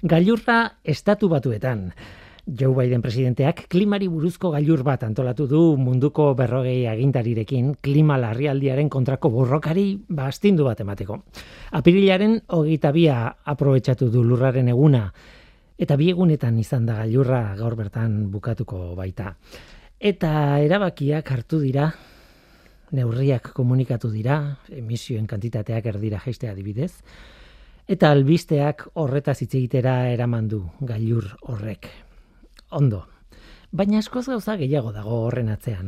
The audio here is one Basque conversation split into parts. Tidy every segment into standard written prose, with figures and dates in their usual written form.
Gailurra Estatu Batuetan. Joe Biden presidenteak klimari buruzko gailur bat antolatu du munduko 40 agintarirekin klima larrialdiaren kontrako borrokari astindu bat emateko. Apirilaren 22 aprobetxatu du lurraren eguna, eta 2 egunetan izan da gailurra gaur bertan bukatuko baita. Eta erabakiak hartu dira, neurriak komunikatu dira, emisioen kantitateak erdira jaistea adibidez, eta albisteak horretaz hitz egitera eraman du gailur horrek. Ondo. Baina askoz gauza gehiago dago horren atzean.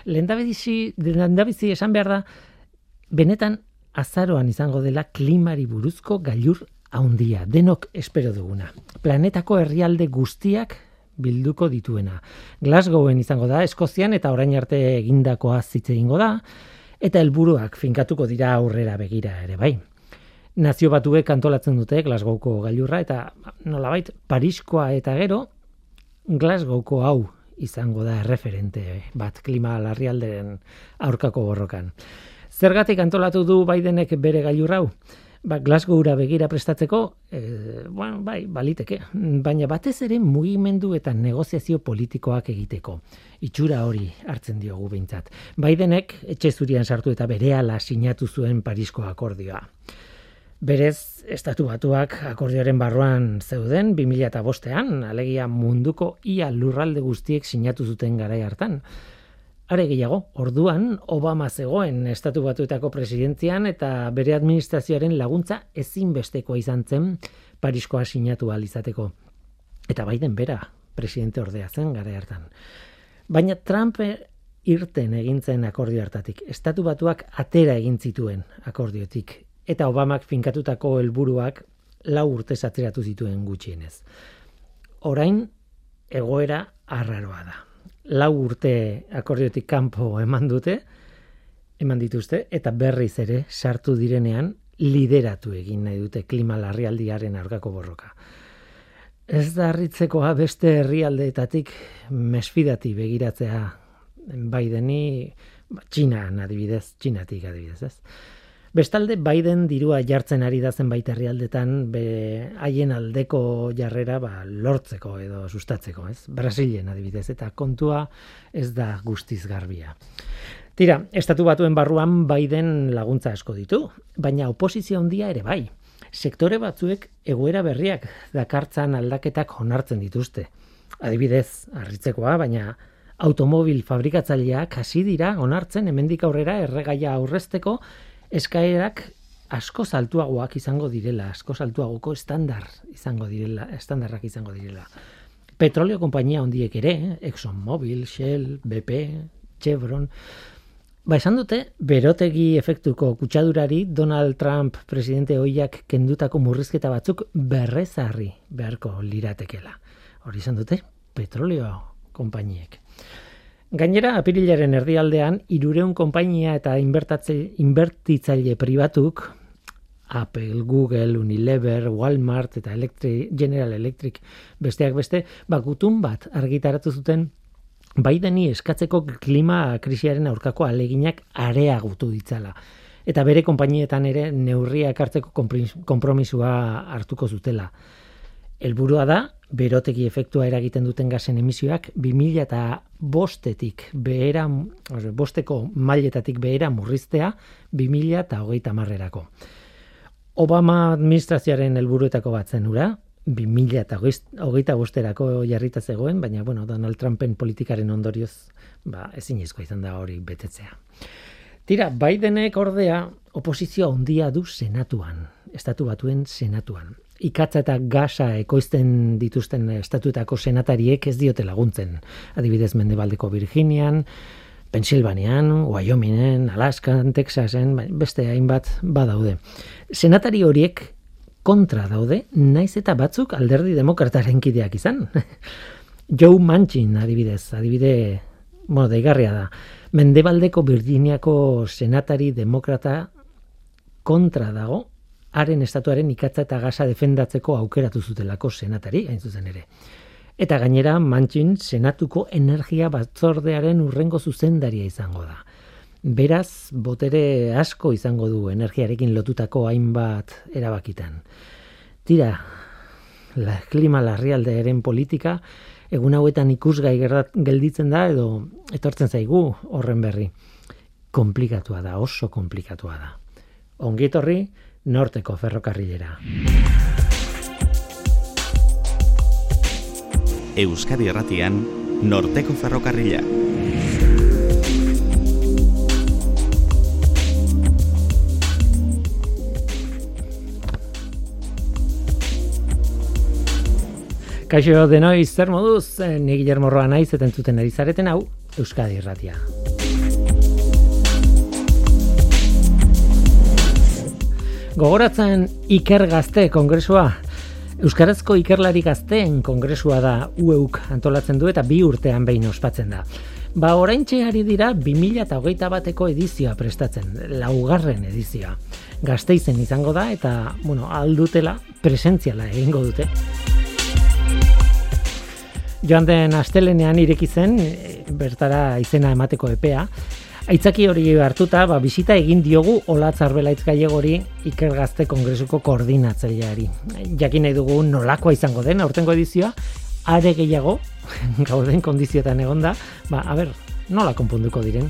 Lehendabizi esan behar da, benetan azaroan izango dela klimari buruzko gailur handia, denok espero duguna. Planetako herrialde guztiak bilduko dituena. Glasgowen izango da, Eskozian eta orain arte egindakoa hitz egingo da, eta helburuak finkatuko dira aurrera begira ere bai. Nazio Batuek antolatzen dute Glasgowko gailurra, eta nolabait Pariskoa eta gero Glasgowko hau izango da erreferente bat klima larrialderen aurkako borrokan. Zergatik antolatu du Bidenek bere gailur hau? Glasgowra begira prestatzeko, bai, baliteke, baina batez ere mugimendu eta negoziazio politikoak egiteko. Itxura hori hartzen diogu behintzat. Bidenek etxe zurian sartu eta berehala sinatu zuen Parisko akordioa. Berez, Estatu Batuak akordioaren barruan zeuden 2005ean, alegia munduko ia lurralde guztiek sinatu zuten garai hartan. Are gehiago, orduan Obama zegoen Estatu Batuetako presidentzian eta bere administrazioaren laguntza ezinbestekoa izan zen Pariskoa sinatu ahal izateko. Eta Biden bera presidente ordea zen garai hartan. Baina Trump irten egin zen akordio hartatik. Estatu Batuak atera egin zituen akordiotik. Eta Obamak finkatutako helburuak 4 urtez atzeratu zituen gutxienez. Orain egoera arraroa da. 4 urte akordiotik kanpo eman dituzte, eta berriz ere sartu direnean lideratu egin nahi dute klima larrialdiaren aurkako borroka. Ez da harritzekoa beste herrialdeetatik mesfidati begiratzea Bideni, Txinatik adibidez, ez? Bestalde, Biden dirua jartzen ari da zenbait herrialdetan haien aldeko jarrera lortzeko edo sustatzeko, ez? Brasilen adibidez, eta kontua ez da guztiz garbia. Tira, Estatu Batuen barruan Biden laguntza asko ditu, baina oposizio handia ere bai. Sektore batzuek egoera berriak dakartzan aldaketak onartzen dituzte. Adibidez, harritzekoa, baina automobil fabrikatzaileak hasi dira onartzen hemendik aurrera erregaia aurrezteko eskaerak asko altuagoak izango direla, asko altuagoko estandarrak izango direla. Petrolio konpainia handiek ere, ExxonMobil, Shell, BP, Chevron, esan dute, berotegi efektuko kutsadurari Donald Trump presidente ohiak kendutako murrizketa batzuk berrezarri beharko liratekela. Hori izan dute, petrolio konpainiek. Gainera, apirilaren erdialdean, 300 konpainia eta inbertitzaile pribatuk, Apple, Google, Unilever, Walmart eta General Electric besteak beste, gutun bat argitaratu zuten Bideni eskatzeko klima krisiaren aurkako aleginak areagotu ditzala. Eta bere konpainietan ere neurriak hartzeko konpromisua hartuko zutela. Helburua da, berotegi efektua eragiten duten gasen emisioak 2005-etik behera, bosteko mailetatik behera murriztea 2030-erako. Obama administrazioaren helburuetako bat zen hura, 2025-erako jarrita zegoen, baina Donald Trumpen politikaren ondorioz ezinezkoa izan da hori betetzea. Tira, Bidenek ordea oposizio handia du senatuan, Estatu Batuen senatuan. Ikatza eta gasa ekoizten dituzten estatuetako senatariek ez diote laguntzen. Adibidez, Mendebaldeko Virginian, Pensilvanian, Wyomingen, Alaskan, Texasen, beste hainbat badaude. Senatari horiek kontra daude, naiz eta batzuk alderdi demokrataren kideak izan. Joe Manchin adibide deigarria da. Mendebaldeko Virginiako senatari demokrata kontra dago, haren estatuaren ikatza eta gasa defendatzeko aukeratu zutelako senatari, hain zuzen ere. Eta gainera, Manchin senatuko energia batzordearen hurrengo zuzendaria izango da. Beraz, botere asko izango du energiarekin lotutako hainbat erabakitan. Tira, klima larrialdearen politika egun hauetan ikusgai gelditzen da edo etortzen zaigu horren berri. Komplikatua da, oso komplikatua da. Ongi etorri Norteko ferrokarrilera. Euskadi Irratian Norteko ferrokarrila. Kaixo denoi, zer moduz, ni Guillermo Roa naiz eta entzuten ari zareten hau Euskadi Irratia. Gogoratzen Iker Gazte kongresua. Euskarazko ikerlari gazteen kongresua da UEUk antolatzen du eta 2 urtean behin ospatzen da. Oraintxe ari dira 2021eko edizioa prestatzen, 4. edizioa. Gasteizen izango da eta, aldutela presentziala egingo dute. Joan den astelenean ireki zen, bertara izena emateko epea. Aitzaki hori hartuta, bisita egin diogu Olatz Arbelaitz Gallegori Iker Gazte kongresuko koordinatzaileari. Jakin nahi dugu nolakoa izango den aurtengo edizioa, are gehiago, gauden kondizioetan egonda, nola konponduko diren.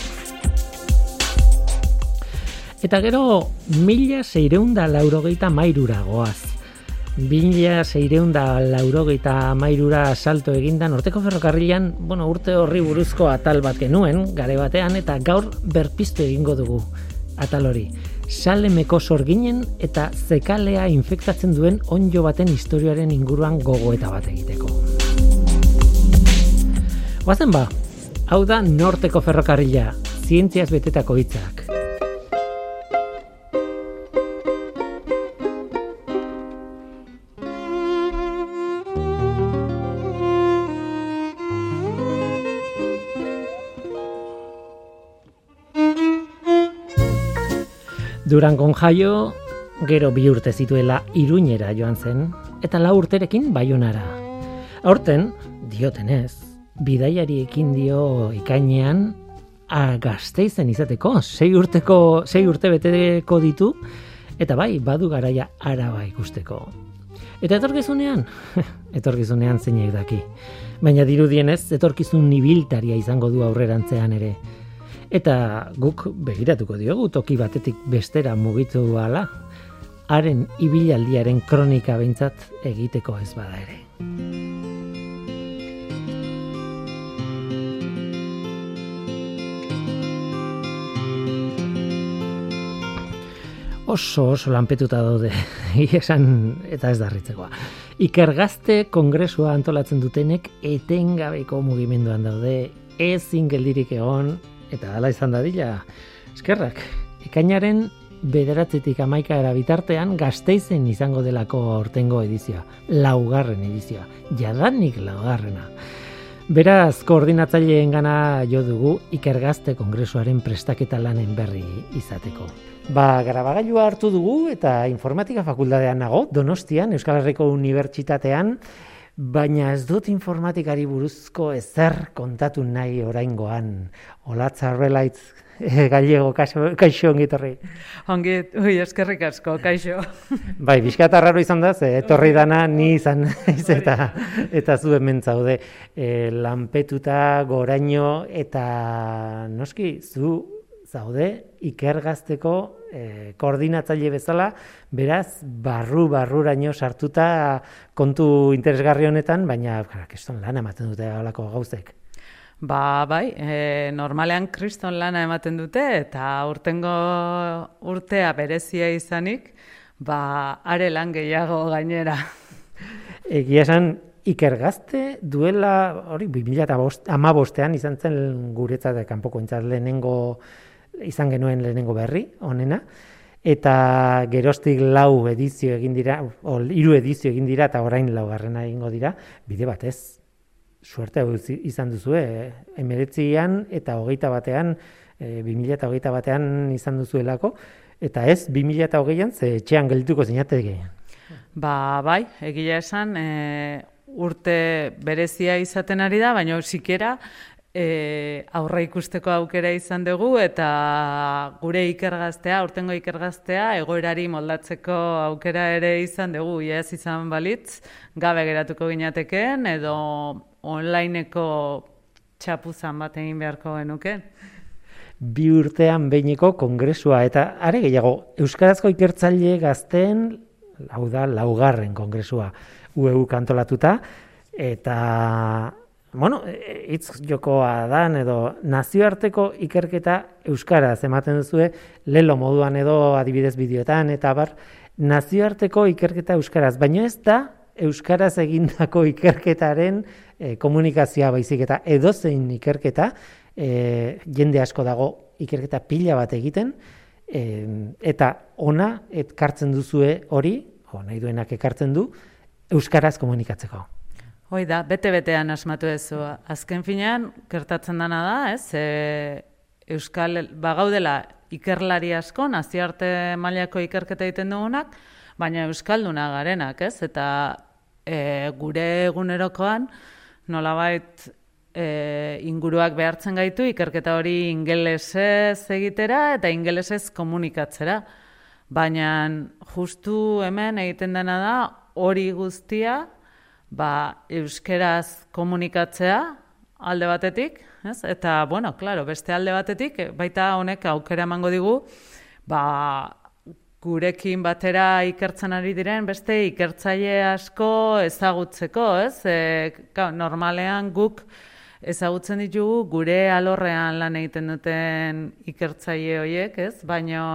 Eta gero, 1683 goaz. 1683 salto eginda Norteko ferrokarrilan, urte horri buruzko atal bat genuen, gare batean, eta gaur berpiztu egingo dugu atal hori. Salemeko sorginen eta zekalea infektatzen duen onddo baten historiaren inguruan gogoeta bat egiteko. Goazen hau da Norteko ferrokarrila, zientziaz betetako hitzak. Durangon jaio, gero 2 urte zituela Iruñera joan zen, eta 4 urterekin Baionara. Aurten, diotenez, bidaiariekin dio ikainean Gasteizen izateko, 6 urte beteko ditu, eta badu garaia Araba ikusteko. Eta etorkizunean zeinek daki. Baina dirudienez, etorkizun ibiltaria izango du aurrerantzean ere. Eta guk begiratuko diogu toki batetik bestera mugitu ahala, haren ibilaldiaren kronika behintzat egiteko ez bada ere. Oso lanpetuta daude, esan eta ez darritzekoa. Iker Gazte kongresua antolatzen dutenek etengabeko mugimenduan daude, ezin geldirik egon, eta hala izan dadila, eskerrak, ekainaren 9-tik 11 bitartean Gasteizen izango delako aurtengo edizioa, 4. edizioa, jadanik 4. Beraz, koordinatzaileengana jo dugu Iker Gazte kongresuaren prestaketa lanen berri izateko. Grabagailua hartu dugu eta informatika fakultatean nago, Donostian, Euskal Herriko Unibertsitatean, baina ez dut informatikari buruzko ezer kontatu nahi oraingoan. Olatz Arbelaitz Gallego, kaixo ongi etorri. Eskerrik asko, kaixo. Bizkat arraro izan da, etorri dana ni izan eta zu hemen zaude. Lanpetuta, goraino, eta noski, zu zaude Iker Gazteko koordinatzaile bezala, beraz, barruraino sartuta kontu interesgarri honetan, baina kriston lana ematen dute halako gauzek. Normalean kriston lana ematen dute, eta urtea berezia izanik, are lan gehiago gainera. Egia esan, Iker Gazte duela, 2015 izan zen guretzat kanpoko izan genuen lehenengo berri, honena, eta geroztik 4 edizio egin dira, 3 edizio egin dira, eta orain 4. egingo dira, bide batez. Suerte izan duzu, 19 eta 21, 2021 izan duzuelako, eta ez 2020an ze etxean geldituko zinateke. Egia esan, urte berezia izaten ari da, baina sikera aurre ikusteko aukera izan dugu eta gure ikergaztea, urtengo ikergaztea, egoerari moldatzeko aukera ere izan dugu. Ez izan balitz, gabe geratuko ginatekeen edo onlineko txapuzan bat egin beharko genuke. 2 urtean behineko kongresua eta are gehiago, Euskarazko ikertzaile gazteen, hau da, 4. kongresua UEU antolatuta, eta hitz jokoa dan edo nazioarteko ikerketa euskaraz ematen duzue lelo moduan edo adibidez bideoetan eta nazioarteko ikerketa euskaraz, baina ez da euskaraz egindako ikerketaren komunikazioa baizik eta edozein ikerketa, jende asko dago ikerketa pila bat egiten, eta ona ekartzen duzue hori, nahi duenak ekartzen du, euskaraz komunikatzeko. Hoi da, bete-betean asmatu ezu. Azken finean, gertatzen dana da, Euskal, bagaudela ikerlari asko, nazioarte mailako ikerketa egiten dugunak, baina euskalduna garenak, eta gure egunerokoan, nolabait inguruak behartzen gaitu, ikerketa hori ingelesez egitera eta ingelesez komunikatzera. Baina justu hemen egiten dena da, hori guztia, euskeraz komunikatzea alde batetik, eta, claro, beste alde batetik, baita honek aukera emango digu, gurekin batera ikertzen ari diren beste ikertzaile asko ezagutzeko, normalean guk ezagutzen ditugu gure alorrean lan egiten duten ikertzaile horiek, baina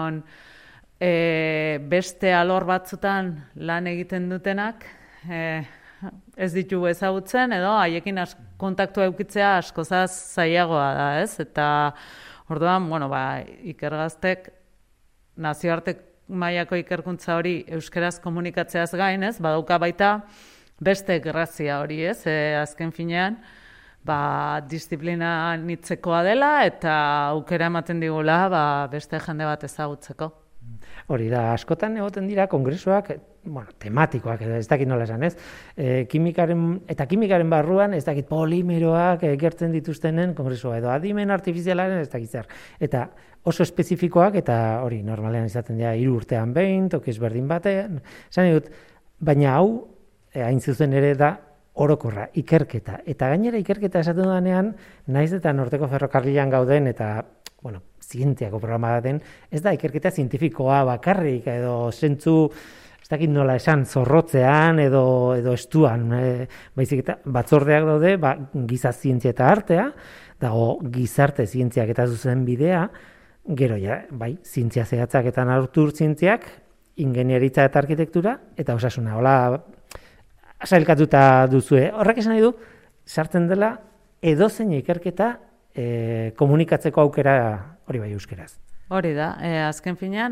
beste alor batzutan lan egiten dutenak, ez ditugu ezagutzen, edo haiekin kontaktua eukitzea askozaz zailagoa da, Eta orduan, ikergaztek nazioarte mailako ikerkuntza hori euskeraz komunikatzeaz gain, badauka baita beste grazia hori, azken finean, disiplina nitzekoa dela eta aukera ematen digula beste jende bat ezagutzeko. Hori da, askotan egoten dira kongresuak, tematikoak, ez dakit nola esan, kimikaren barruan, ez dakit polimeroak gertzen dituztenen kongresua, edo adimen artifizialaren ez dakit zer. Eta oso espezifikoak, eta hori normalean izaten dira 3 urtean behin, toki ezberdin batean, esan dut, baina hau, hain zuzen ere da, orokorra, ikerketa. Eta gainera ikerketa esaten dudanean, naiz eta Norteko Ferrokarrilan gauden, eta zientziako programa den, ez da ikerketa zientifikoa bakarrik, edo zentzu, ez dakit nola esan, zorrotzean edo estuan, baizik eta batzordeak daude, giza zientzia eta artea, dago gizarte zientziak eta zuzen bidea, gero zientzia zehatzak eta natur zientziak, ingeniaritza eta arkitektura, eta osasuna, hola, sailkatuta duzue. Horrek esan nahi du, sartzen dela edozein ikerketa komunikatzeko aukera hori bai euskeraz. Hori da, azken finean,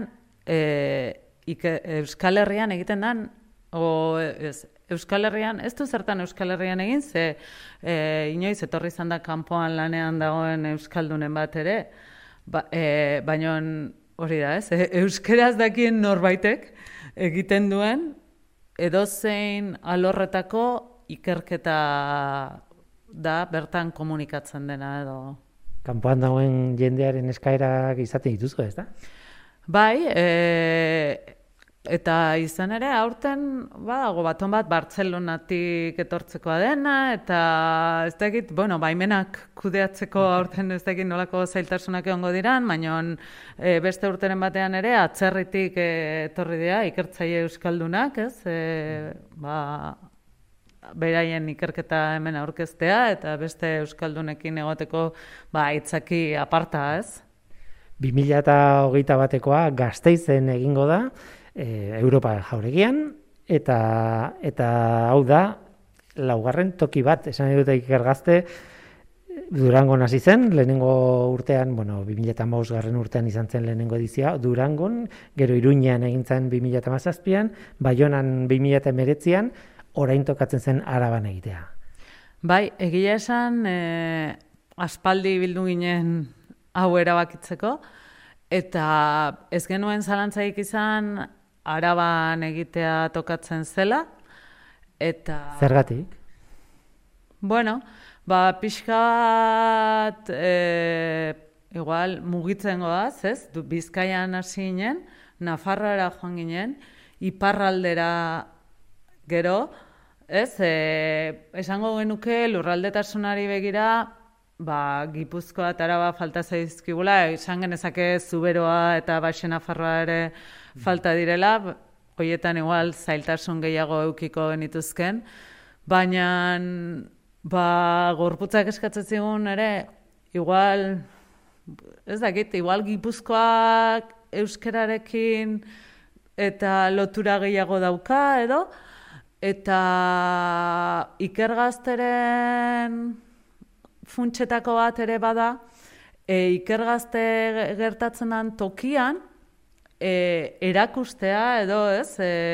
Euskal Herrian egiten den, Euskal Herrian, ez du zertan Euskal Herrian egin, inoiz etorri izan da kanpoan lanean dagoen euskaldunen bat ere, baina hori da, euskeraz dakien norbaitek egiten duen edozein alorretako ikerketa da bertan komunikatzen dena edo. Kanpoan dagoen jendearen eskaerak izaten dituzu, ez da? Bai, eta izan ere, aurten badago baton bat Bartzelonatik etortzekoa dena, eta ez dakit, baimenak kudeatzeko aurten ez dakit nolako zailtasunak egongo diran, baina beste urteren batean ere, atzerritik etorri dira, ikertzaile euskaldunak, beraien ikerketa hemen aurkeztea, eta beste euskaldunekin egoteko aitzaki aparta, 2021koa Gasteizen egingo da, Europa jauregian, eta hau da, 4. toki bat, esan dute ikergazte, Durangon hasi zen, lehenengo urtean, 2015 urtean izan zen lehenengo edizioa, Durangon, gero Iruñean egin zen 2017an, Baionan 2019an, orain tokatzen zen Araban egitea. Bai, egia esan, aspaldi bildu ginen hau erabakitzeko, eta ez genuen zalantzaik izan Araban egitea tokatzen zela, eta... Zergatik? pixka bat, igual, mugitzen goaz, ez? Bizkaian hasi ginen, Nafarroara joan ginen, iparraldera gero, ez? Esango genuke lurraldetasunari begira, Gipuzkoa eta Araba falta zaizkigula, esan genezake Zuberoa eta Baxe Nafarroa ere falta direla, horietan igual zailtasun gehiago eukiko genituzken, baina gorputzak eskatzen zigun ere, igual, ez dakit, igual Gipuzkoak euskerarekin eta lotura gehiago dauka edo, eta Ikergazteren funtsetako bat ere bada, Ikergazte gertatzen den tokian, erakustea edo, ez,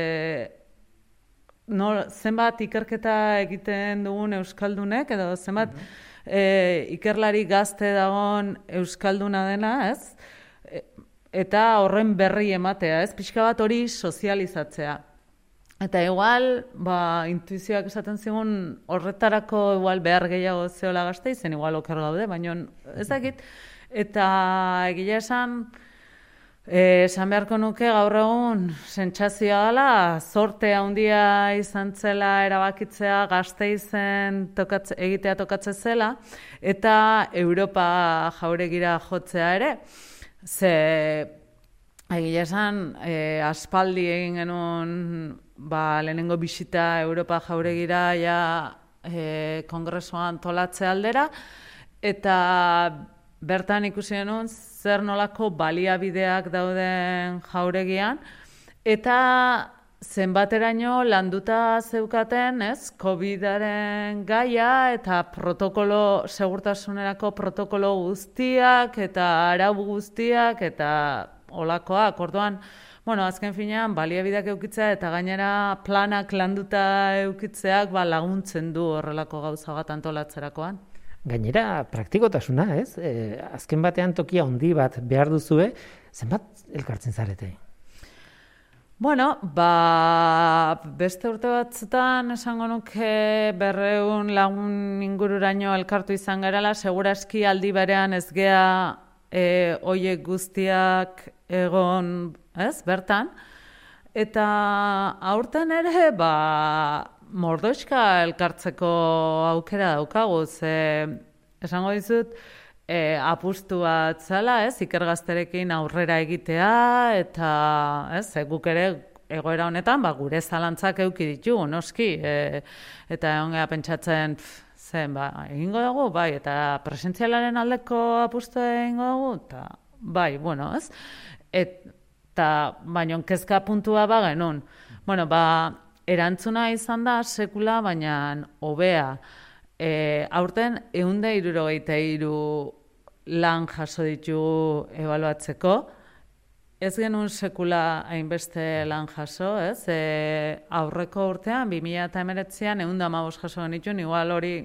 zenbat ikerketa egiten dugun euskaldunek, edo zenbat ikerlari gazte dagoen euskalduna dena, ez, eta horren berri ematea, ez, pixka bat hori sozializatzea. Eta igual, intuizioak esaten zigun horretarako igual behar gehiago zeola gazte, izen igual oker gaude, baina ez dakit. Eta egia esan beharko nuke gaur egun sentsazioa dela, zorte handia izan zela erabakitzea Gasteizen egitea tokatzen zela, eta Europa jauregira jotzea ere. Ze egia esan, aspaldi egin genuen lehenengo bisita Europa jauregira kongresuan tolatze aldera, eta bertan ikusi genuen zer nolako baliabideak dauden jauregian, eta zenbateraino landuta zeukaten, ez, COVID-aren gaia eta segurtasunerako protokolo guztiak eta arau guztiak eta olakoak, orduan, azken finean, baliabideak eukitzea eta gainera planak landuta eukitzeak laguntzen du horrelako gauza bat antolatzerakoan. Gainera, praktikotasuna, ez? Azken batean tokia handi bat behar duzue, zenbat elkartzen zarete? Beste urte batzutan esango nuke 200 lagun ingururaino elkartu izan garela, seguraski aldi berean ez gea hoiek guztiak egon, ez, bertan. Eta aurten ere, mordoxka elkartzeko aukera daukagu, esango dizut, apustu bat zela, ez, Ikergazterekin aurrera egitea, eta, ez, guk ere egoera honetan, gure zalantzak eduki ditugu, noski, eta egon geha pentsatzen, egingo dugu, eta presentzialaren aldeko apustu egingo dugu, eta, ez, eta, baina kezka puntua genuen. Erantzuna izan da sekula, baina hobea. Aurten 163 lan jaso ditugu ebaluatzeko. Ez genuen sekula hainbeste lan jaso, ez? Aurreko urtean, 2019an 115 jaso genituen, igual hori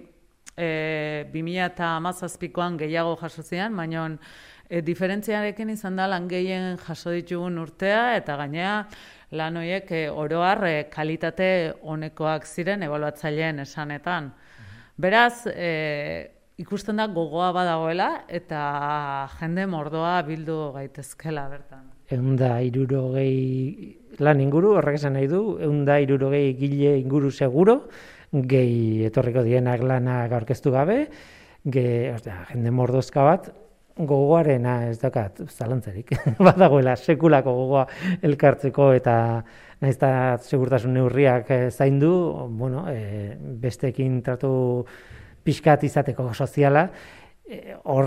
2017koan gehiago jaso zian, baina diferentziarekin izan da lan gehien jaso ditugun urtea, eta gainera lan horiek oro har kalitate onekoak ziren ebaluatzaileen esanetan. Beraz, ikusten da gogoa badagoela eta jende mordoa bildu gaitezkela bertan. 160 lan inguru, horrek esan nahi du, 160 gile inguru seguro, gehi etorriko dienak lanak aurkeztu gabe, jende mordozka bat, gogoarena ez dakat zalantzarik, badagoela sekulako gogoa elkartzeko eta nahiz eta segurtasun neurriak zaindu, besteekin tratu pixkat izateko soziala, hor,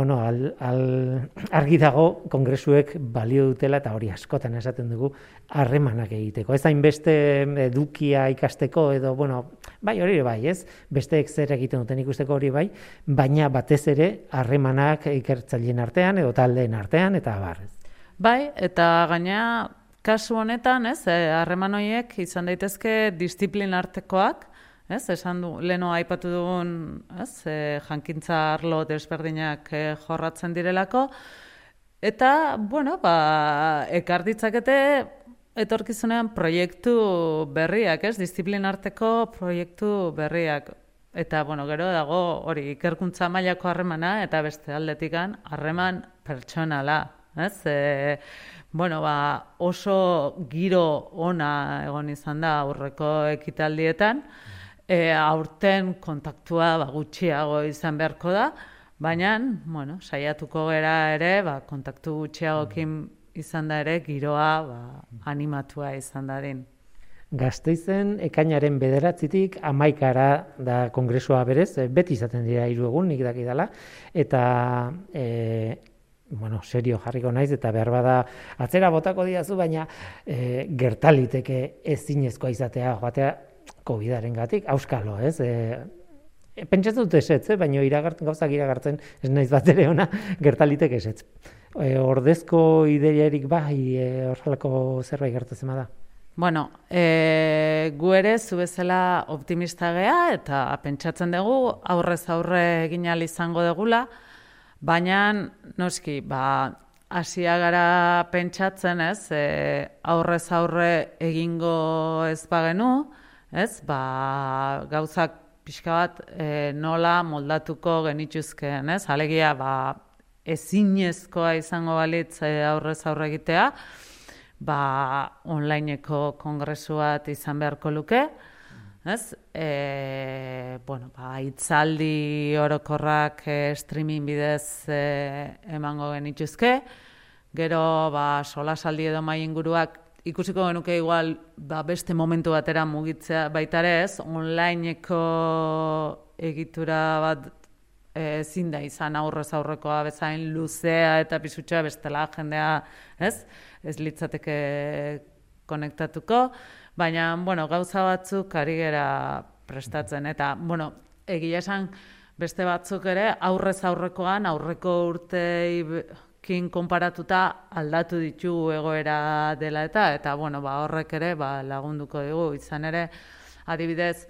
argi dago kongresuek balio dutela eta hori askotan esaten dugu harremanak egiteko. Ez hainbeste edukia ikasteko edo, hori bai, ez? Besteek zer egiten duten ikusteko hori bai, baina batez ere harremanak ikertzaileen artean edo taldeen artean eta abar. Bai, eta gaina kasu honetan, ez, harreman horiek izan daitezke disiplin artekoak, ez, esan du, leheno aipatu dugun, ez, jankintza arlo desberdinak jorratzen direlako, eta, ekar ditzakete etorkizunean proiektu berriak, ez, disiplin arteko proiektu berriak. Eta, gero dago hori ikerkuntza mailako harremana eta beste aldetikan harreman pertsonala, ez? Oso giro ona egon izan da aurreko ekitaldietan, aurten kontaktua gutxiago izan beharko da, baina, saiatuko gera ere, kontaktu gutxiagokin izan da ere, giroa animatua izan dadin. Gasteizen ekainaren 9-tik 11 da kongresua berez, beti izaten dira 3 egun, nik dakidala, eta serio jarriko naiz, eta behar bada atzera botako diazu, baina gertaliteke ezinezkoa izatea, joatea COVID-aren gatik, auskalo, ez? Pentsatzen dut esetz, baina gauzak iragartzen ez naiz bat ere ona, gertaliteke esetz. Ordezko ideiarik horrelako zerbait gertatzen da? Gu ere zu bezala optimista gea eta pentsatzen dugu aurrez aurre egin ahal izango degula, baina noski, hasia gara pentsatzen, ez, aurrez aurre egingo ez bagenu, ez, gauzak pixka bat nola moldatuko genituzkeen, ez, alegia ezinezkoa izango balitz aurrez aurre egitea, onlineko kongresu bat izan beharko luke, ez? Hitzaldi orokorrak streaming bidez emango genituzke, gero solasaldi edo mahai inguruak ikusiko genuke igual beste momentu batera mugitzea baita ere, ez? Onlineko egitura bat ezin da izan aurrez aurrekoa bezain luzea eta pisutxoa bestela jendea, ez? Ez litzateke konektatuko, baina, gauza batzuk ari gera prestatzen, eta, egia esan beste batzuk ere aurrez aurrekoan, aurreko urteekin konparatuta aldatu ditugu egoera dela eta horrek ere lagunduko digu, izan ere, adibidez,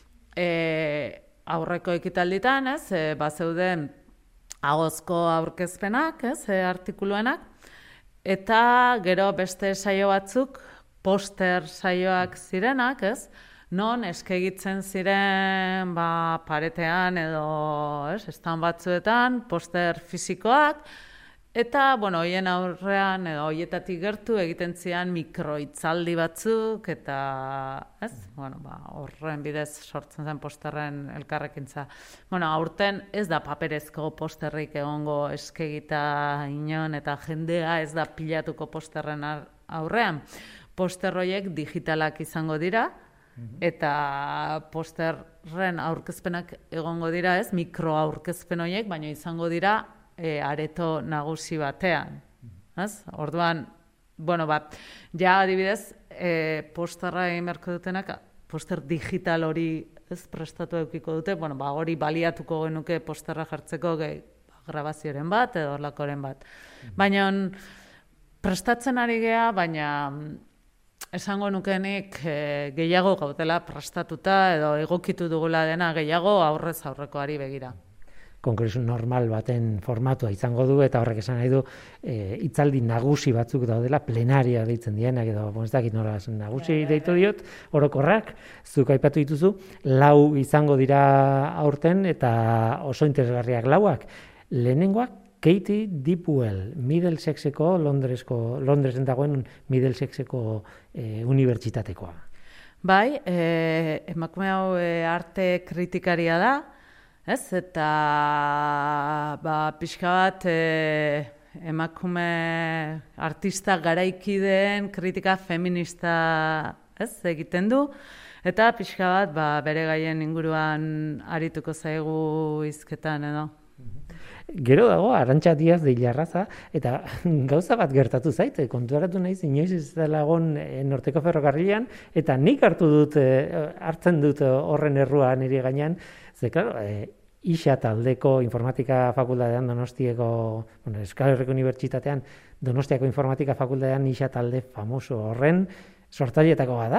aurreko ekitalditan, ez, bazeuden agozko aurkezpenak, ez, artikuluenak, eta gero beste saio batzuk, poster saioak zirenak, ez, non eskegitzen ziren paretean edo, ez, estan batzuetan, poster fisikoak, eta, hoien aurrean edo hoietatik gertu egiten zian mikroitzaldi batzuk, eta, ez, horren bidez sortzen zen posterren elkarrekintza. Aurten ez da paperezko posterrik egongo eskegita inon, eta jendea ez da pilatuko posterren aurrean. Poster horiek digitalak izango dira, eta posterren aurkezpenak egongo dira, ez, mikro aurkezpen horiek, baina izango dira areto nagusi batean. Orduan, ja adibidez, posterra egin beharko dutenak, poster digital hori ez prestatu eukiko dute, hori baliatuko genuke posterra jartzeko grabazioaren bat edo horlakoren bat. Baina prestatzen ari gea, baina esango nukenik gehiago gaudela prestatuta edo egokitu dugula dena gehiago aurrez aurrekoari begira. Kongresu normal baten formatua izango du, eta horrek esan nahi du hitzaldi nagusi batzuk daudela, plenaria deitzen dienak, edo ez dakit nola nagusi deitu diot, orokorrak, zuk aipatu dituzu, 4 izango dira aurten, eta oso interesgarriak 4. Lehenengoak, Katie Dipwell, Middlesexeko, Londresen dagoen Middlesexeko unibertsitatekoa. Bai, emakume hau arte kritikaria da, ez, eta pixka bat emakume artista garaikideen kritika feminista, ez, egiten du, eta pixka bat bere gaien inguruan arituko zaigu hizketan edo. Gero dago, Arantxa Diaz de Ilarraza, eta gauza bat gertatu zait, konturatu naiz, inoiz ez dela egon Norteko Ferrokarrilean, eta nik hartzen dut horren errua nire gainean, ze, klaro, ISA taldeko informatika fakultatean Donostiako, Euskal Herriko Unibertsitatean, Donostiako informatika fakultatean ISA talde famoso horren sortzaileetako bada.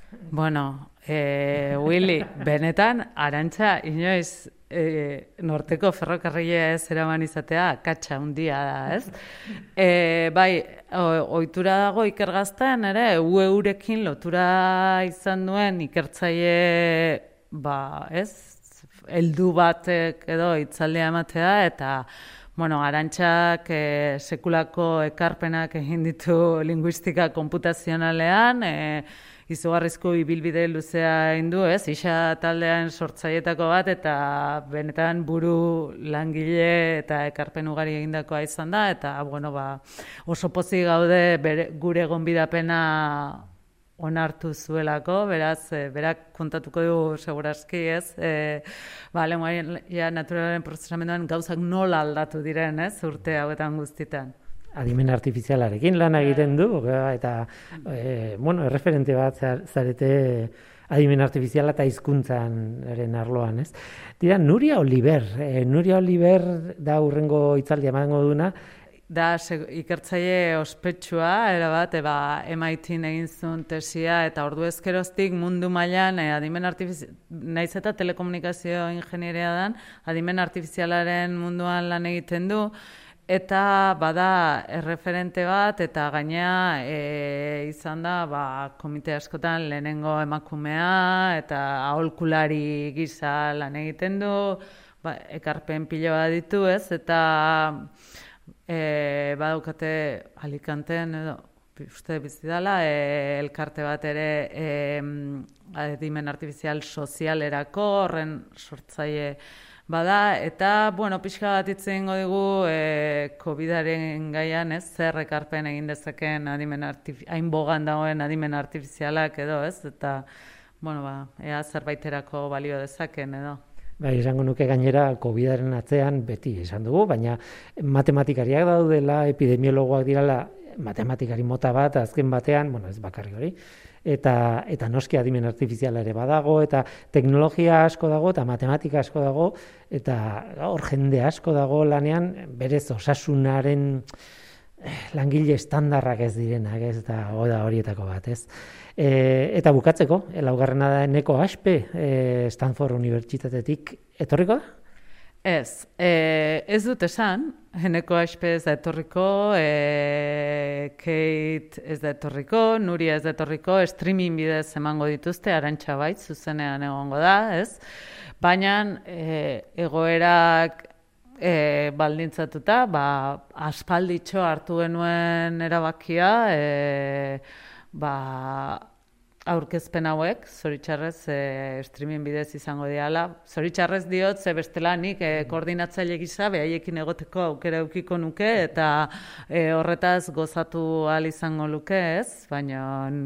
Willy, benetan, Arantxa, inoiz, Norteko Ferrokarrilea ez eraman izatea, katxa hundia da, ez? Bai, ohitura dago ikergazten, ere, eurekin lotura izan duen ikertzaile, ez? heldu batek edo hitzaldia ematea, eta bueno, Arantxak sekulako ekarpenak egin ditu linguistika konputazionalean, izugarrizko ibilbide luzea egin du, isa taldean sortzailetako bat, eta benetan buru langile eta ekarpen ugari egindakoa izan da, eta bueno, oso pozik gaude gure gonbidapena onartu zuelako, beraz, berak kontatuko du segurazki, lenguaia naturalaren prozesamenduan gauzak nola aldatu diren, urte hauetan guztitan. Adimen artifizialarekin lan egiten du, eta, erreferente bat zarete adimen artifiziala eta hizkuntzaren arloan, Dira, Nuria Oliver da hurrengo hitzaldia emango duna. Da, ikertzaile ospetsua, erabat, MIT-n egin zuen tesia, eta ordu ezkeroztik mundu mailan adimen naiz eta telekomunikazio ingenieria dan, adimen artifizialaren munduan lan egiten du, eta bada erreferente bat, eta gainea izan da komite askotan lehenengo emakumea, eta aholkulari gisa lan egiten du, ekarpen pilo bat ditu, eta badaukate Alicanten edo uste bizidala elkarte bat ere adimen artifizial sozialerako horren sortzaile bada, eta pixka bat hitz egingo dugu COVID-aren gaian, zer ekarpen egin dezakeen hain bogan dagoen adimen artifizialak edo, eta ea zerbaiterako balio dezaken edo. Esango nuke gainera COVID-aren atzean beti esan dugu, baina matematikariak daudela, epidemiologoak direla, matematikari mota bat, azken batean, ez bakarri hori, eta noski adimen artifiziala ere badago, eta teknologia asko dago, eta matematika asko dago, eta hor jende asko dago lanean, berez osasunaren langile estandarrak ez direnak, eta horietako bat, Eta bukatzeko, laugarrena da Eneko Aspe, Stanford Unibertsitatetik etorriko da? Ez dut esan, Eneko Aspe ez da etorriko, Kate ez da etorriko, Nuria ez da etorriko, streaming bidez emango dituzte, Arantxa bait, zuzenean egongo da, baina egoerak baldintzatuta, aspalditxo hartu genuen erabakia, aurkezpen hauek, zoritxarrez streaming bidez izango diala. Zoritxarrez diot, ze bestela nik koordinatzaile gisa behaiekin egoteko aukera eukiko nuke, eta horretaz gozatu ahal izango luke, baina...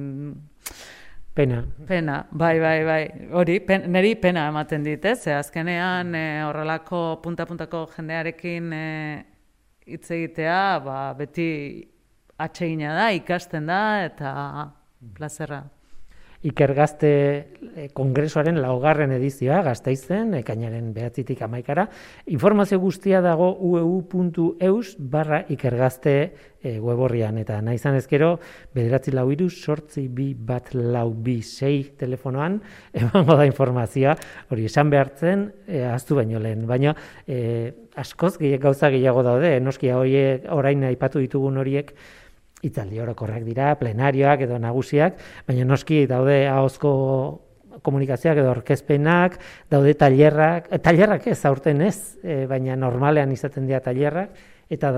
Pena. Bai. Hori, niri pena ematen dit, azkenean horrelako punta-puntako jendearekin hitz egitea, beti atsegina da, ikasten da, eta plazerra. Ikergazte kongresuaren 4. edizioa Gasteizen, ekainaren 9-tik 11-ra. Informazio guztia dago ueu.eus/ikergazte weborrian, eta nahi izan ezkero 943-82426 telefonoan emango da informazioa, hori esan behartzen ahaztu baino lehen, baina askoz gauza gehiago daude, noski horiek orain aipatu ditugun horiek hitzaldi orokorrak dira, plenarioak edo nagusiak, baina noski daude ahozko komunikazioak edo aurkezpenak, daude tailerrak ez aurten baina normalean izaten dira tailerrak, eta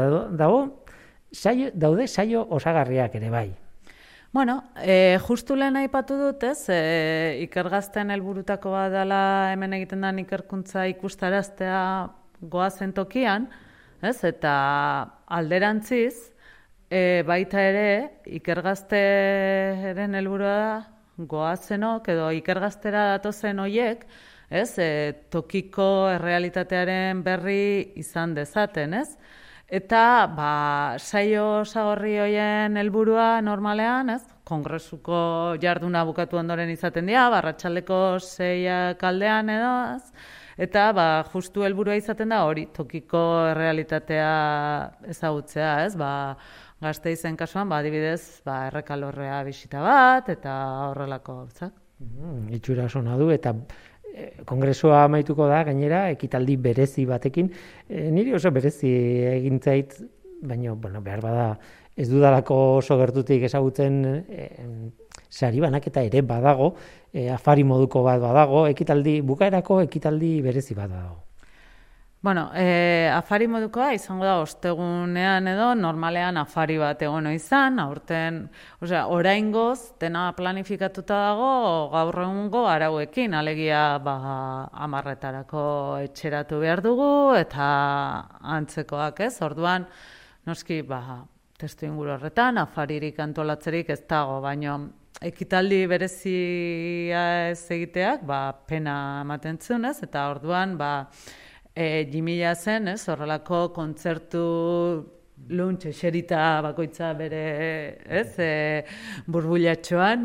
daude saio osagarriak ere bai. Justu lehen aipatu dut, ikergazten helburutako bat dela hemen egiten den ikerkuntza ikustaraztea goazen tokian, eta alderantziz, baita ere, ikergazteren helburua da, goazenok edo ikergaztera datozen hoiek, tokiko errealitatearen berri izan dezaten, Eta, saio osagorri hoien helburua normalean, kongresuko jarduna bukatu ondoren izaten dira, arratsaldeko 6 aldean edo, eta justu helburua izaten da hori, tokiko errealitatea ezagutzea, Gasteizen kasuan, adibidez, Errekalorrea bisita bat, eta horrelako gauzak. Itxura sona du, eta kongresua amaituko da, gainera, ekitaldi berezi batekin. Niri oso berezi egin zait, baina, behar bada, ez dudalako oso gertutik ezagutzen sari banaketa ere badago, afari moduko bat badago, bukaerako ekitaldi berezi bat badago. Bueno, afari modukoa izango da ostegunean edo normalean afari bat egon izan, aurten, oraingoz dena planifikatuta dago gaur egungo arauekin, alegia 10:00 etxeratu behar dugu eta antzekoak, ez? Orduan, noski, testu inguru horretan, afaririk antolatzerik ez dago, baina ekitaldi berezia ez egiteak, pena ematen zuen, ez? Eta orduan, 2000 zen, ez, horrelako kontzertu luntxe eserita bakoitza bere, ez, burbulatxoan,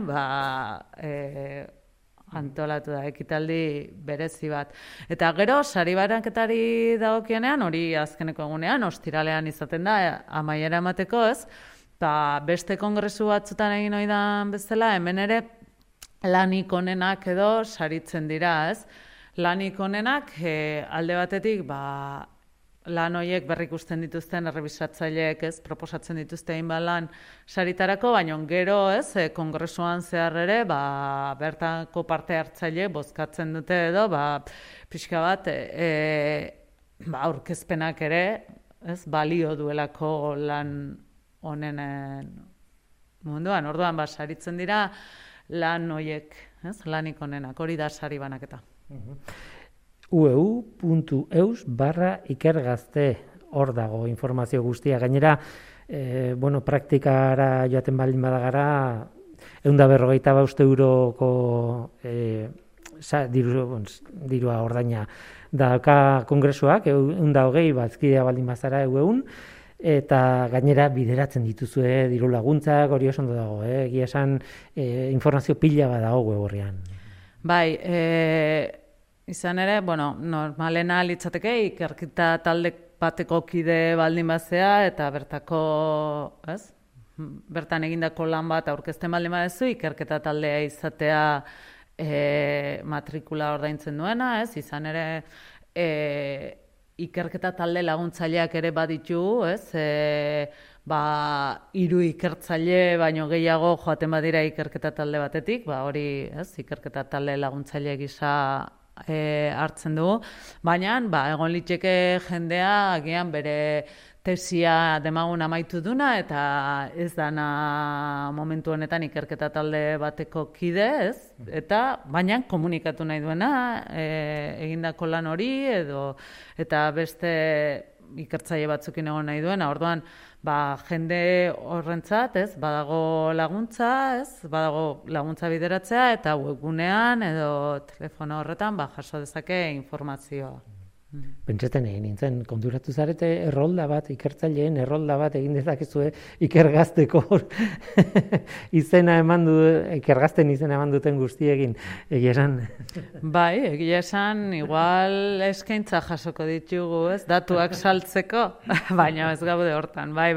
antolatu da ekitaldi berezi bat. Eta gero, sari banaketari dagokionean, hori azkeneko egunean, ostiralean izaten da, amaiera emateko, ez, beste kongresu batzutan egin oidan bezala, hemen ere lanik onenak edo saritzen dira, ez. Lanik onenak, alde batetik, lan horiek berrikusten dituzten errebisatzaileek, ez, proposatzen dituzte hainbat lan saritarako, baina gero, ez, kongresuan zehar ere, bertako parte hartzaile bozkatzen dute edo, pixka bat, aurkezpenak ere, ez, balio duelako lan honenen munduan. Orduan, saritzen dira lan horiek, ez, lanik onenak, hori da sari banaketa. ueu.eus/ikergazte hor dago informazio guztia. Gainera, praktikara joaten baldin badagara, 150 euroko dirua ordaina dauka kongresuak, 120 bazkidea baldin bazara eueun, eta gainera bideratzen dituzue diru laguntzak, hori oso ondo dago, egia esan informazio pila badago web horrean. Bai, izan ere, normalena litzateke ikerketa talde bateko kide baldin bazea eta bertako, ez? Bertan egindako lan bat aurkezten baldin badezu, ikerketa taldea izatea matrikula ordaintzen duena, ez? Izan ere, ikerketa talde laguntzaileak ere baditu, ez? 3 ikertzaile baino gehiago joaten badira ikerketa talde batetik, hori, ez, ikerketa talde laguntzaile gisa hartzen dugu, baina egon litzeke jendea agian bere tesia demagun amaitu duna eta ez dana momentu honetan ikerketa talde bateko kide, ez? Eta baina komunikatu nahi duena egindako lan hori eta beste ikertzaile batzukin egon nahi duena. Orduan, jende horrentzat, ez, badago laguntza, ez, badago laguntza bideratzea eta webgunean edo telefono horretan jaso dezake informazioa. Pentsatzen egin nintzen, konturatu zarete errolda bat, ikertzaileen errolda bat egin dezakezue ikergazteko ikergazten izena eman duten guztiekin, egia esan. Bai, egia esan, igual eskaintza jasoko ditugu, ez, datuak saltzeko, baina ez gaude hortan, bai,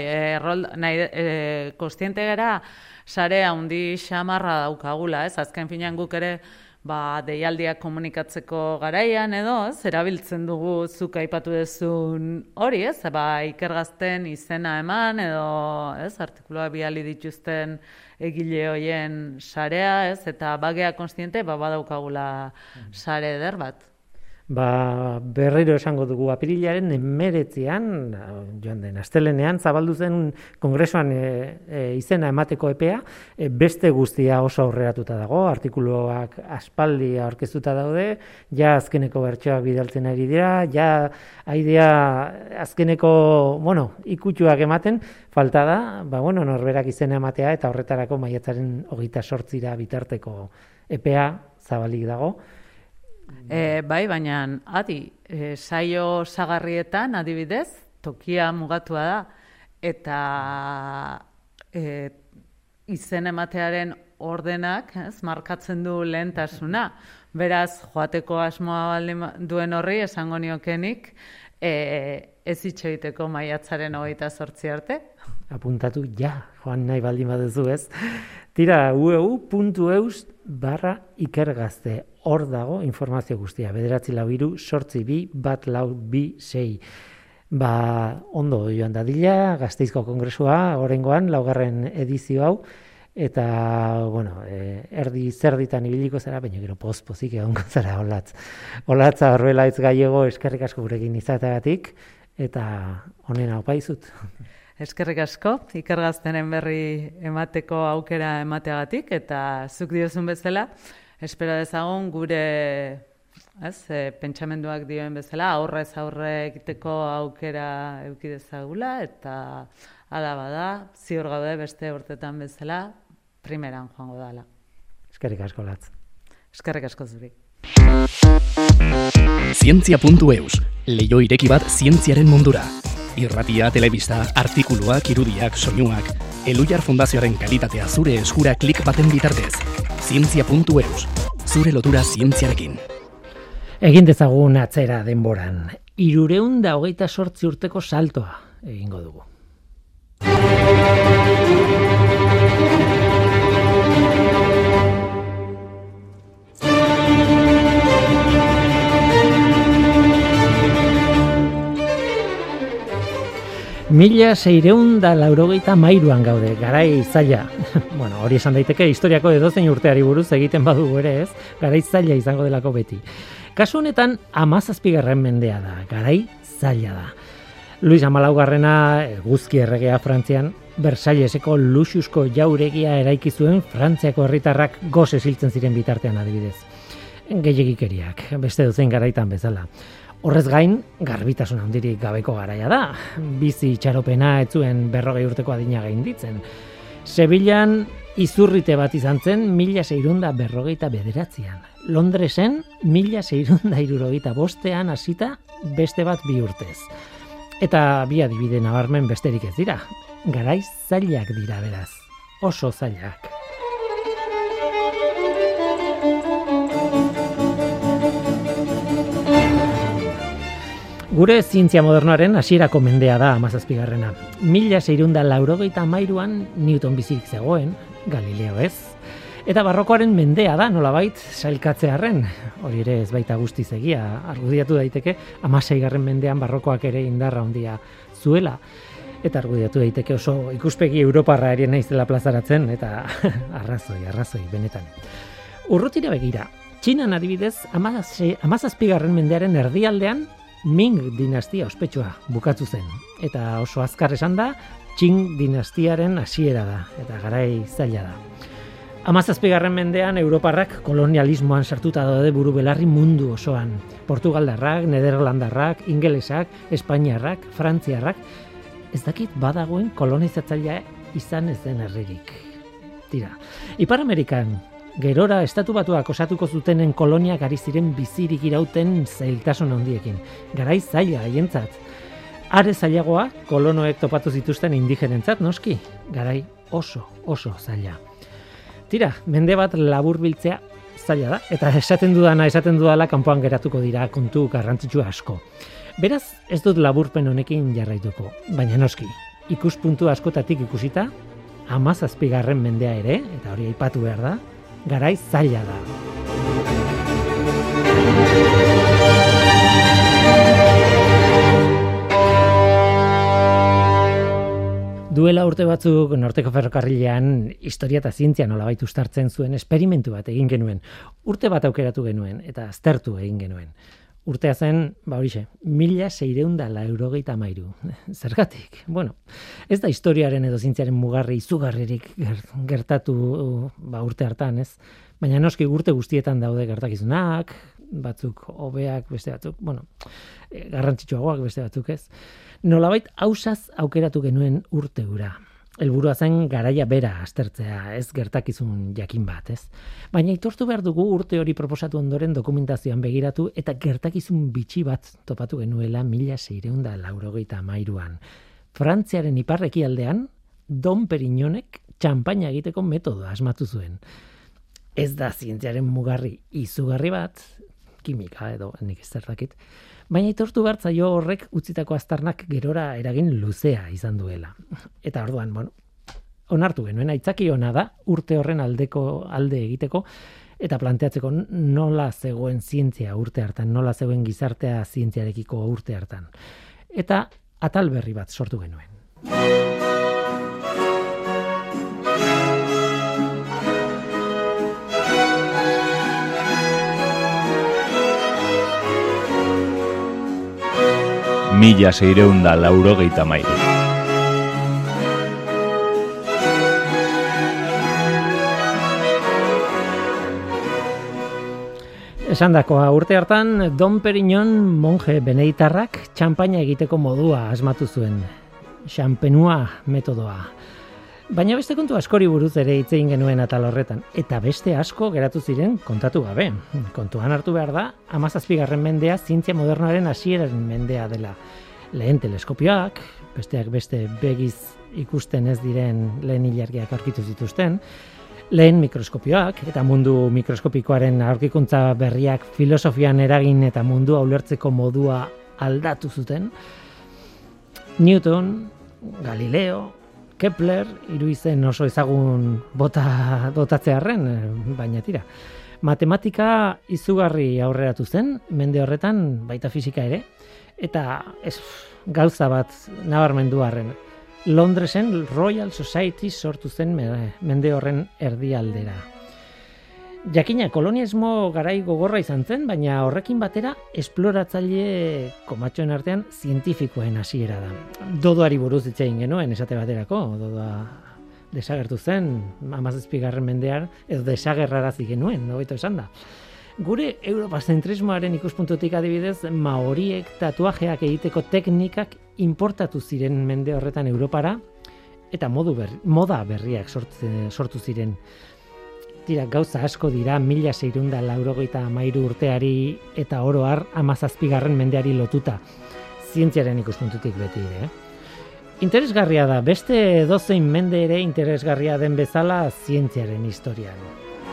kontziente gara sare handi xamarra daukagula, ez, azken finean guk ere deialdiak komunikatzeko garaian edo, ez, erabiltzen dugu zuk aipatu duzun hori, ez, ikergazten izena eman edo, ez, artikulua bidali dituzten egile hoien sarea, ez, eta bagea kontziente, badaukagula sare eder bat. Berriro esango dugu apirilaren 19an, joan den astelenean, zabaldu zen kongresuan izena emateko epea, beste guztia oso aurreratuta dago, artikuluak aspaldi aurkeztuta daude, ja azkeneko bertsoak bidaltzen ari dira, ja aidea azkeneko, ikutxuak ematen, falta da, norberak izena ematea eta horretarako maiatzaren 28 bitarteko epea zabalik dago. Bai, baina saio sagarrietan adibidez, tokia mugatua da eta izen ematearen ordenak, ez, markatzen du lehentasuna. Beraz, joateko asmoa baldin duen horri esango niokenik, ez itxoiteko maiatzaren 28 arte. Apuntatu joan nahi baldin baduzu, ez? Tira, ueu.eus/ikergazte. Hor dago informazio guztia. 943-822-126. Ondo joan dadila, Gasteizko kongresua, oraingoan, 4. edizio hau, eta, bueno, erdi zerditan ibiliko zara, baina gero pozik egongo zara Olatza Orbelaitz Gallego, eskerrik asko gurekin izateagatik, eta honen aupaizut. Eskerrik asko, Iker Gaztenen berri emateko aukera emateagatik, eta zuk diozun bezala, espero dezagun gure pentsamenduak dioen bezala, aurrez aurre egiteko aukera eduki dezagula, eta hala bada, ziur gaude beste urtetan bezala, primeran joango dala. Eskerrik asko, Latz. Eskerrik asko zuri. Zientzia.eus, leiho ireki bat zientziaren mundura. Irratia, telebista, artikuluak, irudiak, soinuak. Elujar Fundazioaren kalitatea zure eskura klik baten bitartez. Zientzia.eus, zure lotura zientziarekin. Egin dezagun atzera denboran. 328 urteko saltoa egingo dugu. Mila 683an gaude, garai zaila. Bueno, hori esan daiteke historiako edozein urteari buruz egiten badugu ere, ez? Garai zaila izango delako beti. Kasu honetan 17. mendea da, garai zaila da. Luis XIV eguzki erregea Frantzian, Versailleseko luxuzko jauregia eraiki zuen Frantziako herritarrak gose hiltzen ziren bitartean adibidez. Gehiegikeriak, beste dozein garaitan bezala. Horrez gain, garbitasun handirik gabeko garaia da. Bizi itxaropena ez zuen 40 urteko adina gainditzen. Sevillan izurrite bat izan zen 1649an. Londresen 1675an hasita beste bat 2 urtez. Eta bi adibide nabarmen besterik ez dira. Garai zailak dira beraz. Oso zailak. Gure zientzia modernoaren hasierako mendea da 17. 1683an Newton bizirik zegoen, Galileo ez. Eta barrokoaren mendea da, nolabait, sailkatzearren. Hori ere ez baita guztiz egia, argudiatu daiteke 16. mendean barrokoak ere indarra handia zuela. Eta argudiatu daiteke oso ikuspegi europarra ere naizela plazaratzen, eta arrazoi, benetan. Urrutira begira, Txinan adibidez, 17. mendearen erdialdean, Ming dinastia ospetsua bukatu zen. Eta oso azkar esan da, Qing dinastiaren hasiera da, eta garai zaila da. 17. mendean Europarrak kolonialismoan sartuta daude buru belarri mundu osoan. Portugaldarrak, Nederlandarrak, ingelesak, espainiarrak, frantziarrak, ez dakit badagoen kolonizatzailea izan ez den herririk. Tira, Ipar Amerikan, gerora Estatu Batuak osatuko zutenen koloniak ari ziren bizirik irauten zailtasun handiekin. Garai zaila haientzat. Are zailagoa kolonoek topatu zituzten indigenentzat noski. Garai oso zaila. Tira, mende bat laburbiltzea zaila da, eta esaten dudala kanpoan geratuko dira kontu garrantzitsu asko. Beraz, ez dut laburpen honekin jarraituko, baina noski, ikuspuntu askotatik ikusita, 17. mendea ere, eta hori aipatu behar da, garai zaila da. Duela urte batzuk Norteko Ferrokarrilean historia eta zientzia nolabait uztartzen zuen esperimentu bat egin genuen. Urte bat aukeratu genuen eta aztertu egin genuen. Urtea zen, horixe, 1683. Zergatik? Bueno, ez da historiaren edo zientziaren mugarri izugarririk gertatu urte hartan, ez? Baina noski urte guztietan daude gertakizunak, batzuk hobeak, beste batzuk, garrantzitsuagoak beste batzuk, ez? Nolabait ausaz aukeratu genuen urte hura. Helburua zen garaia bera aztertzea, ez gertakizun jakin bat, ez? Baina aitortu behar dugu urte hori proposatu ondoren dokumentazioan begiratu eta gertakizun bitxi bat topatu genuela 1683an. Frantziaren iparrekialdean, Dom Perignonek txanpaina egiteko metodoa asmatu zuen. Ez da zientziaren mugarri izugarri bat, kimika edo nik ez zertakit, baina aitortu behar zaio horrek utzitako aztarnak gerora eragin luzea izan duela. Eta orduan, onartu genuen, aitzaki ona da urte horren alde egiteko eta planteatzeko nola zegoen zientzia urte hartan, nola zegoen gizartea zientziarekiko urte hartan. Eta atal berri bat sortu genuen. 1693. Esandakoa, urte hartan Dom Perignon monje beneditarrak txanpaina egiteko modua asmatu zuen. Champenois metodoa. Baina beste kontu askori buruz ere hitz egin genuen atal horretan, eta beste asko geratu ziren kontatu gabe. Kontuan hartu behar da, 17. mendea zientzia modernoaren hasieraren mendea dela. Lehen teleskopioak, besteak beste begiz ikusten ez diren lehen ilargiak aurkitu zituzten, lehen mikroskopioak eta mundu mikroskopikoaren aurkikuntza berriak filosofian eragin eta mundua ulertzeko modua aldatu zuten. Newton, Galileo, Kepler, hiru izen oso ezagun botatzearren, baina tira. Matematika izugarri aurreratu zen, mende horretan baita fisika ere, eta gauza bat nabarmendu arren. Londresen Royal Society sortu zen mende horren erdialdera. Jakina, kolonialismo garai gogorra izan zen, baina horrekin batera esploratzaile komatxoen artean zientifikoen hasiera da. Dodoari buruz hitz egin genuen esate baterako, dodoa desagertu zen 17. mendean, edo desagerrarazi genuen, hobeto esan da. Gure europazentrismoaren ikuspuntutik adibidez, maoriek tatuajeak egiteko teknikak importatu ziren mende horretan Europara, eta moda berriak sortu ziren. Tira, gauza asko dira 1693 urteari eta oro har 17. mendeari lotuta, zientziaren ikuspuntutik beti ere. Interesgarria da, beste edozein mende ere interesgarria den bezala zientziaren historian.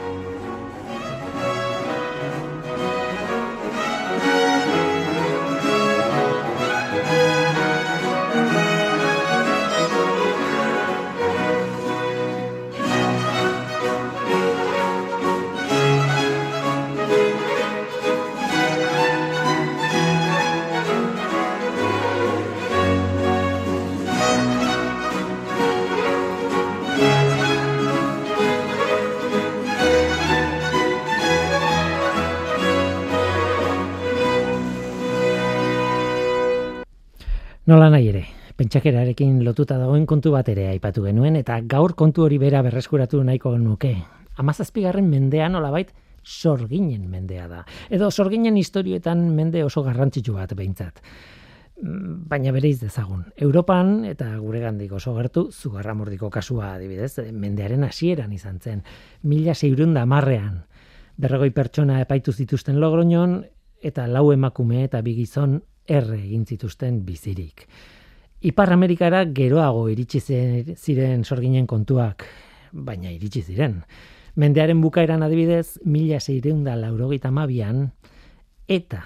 Nola nahi ere, pentsakerarekin lotuta dagoen kontu bat ere aipatu genuen, eta gaur kontu hori bera berreskuratu nahiko nuke. 17. mendean nolabait sorginen mendea da. Edo sorginen historioetan mende oso garrantzitsu bat behintzat. Baina bereiz dezagun. Europan eta guregandik oso gertu Zugarramurdiko kasua adibidez, mendearen hasieran izan zen. 1610ean 40 pertsona epaitu zituzten Logroñon eta 4 emakume eta 2 gizon egin zituzten bizirik. Ipar Amerikara geroago iritsi ziren sorginen kontuak, baina iritsi ziren. Mendearen bukaeran adibidez, 1682an eta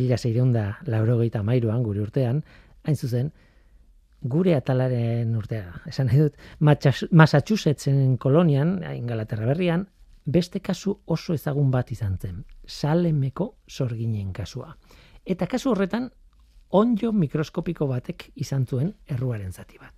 1683an gure urtean, hain zuzen, gure atalaren urtea. Esan nahi dut, Massachusettsen kolonian, Ingalaterra berrian, beste kasu oso ezagun bat izan zen, Salemeko sorginen kasua. Eta kasu horretan, onddo mikroskopiko batek izan zuen erruaren zati bat.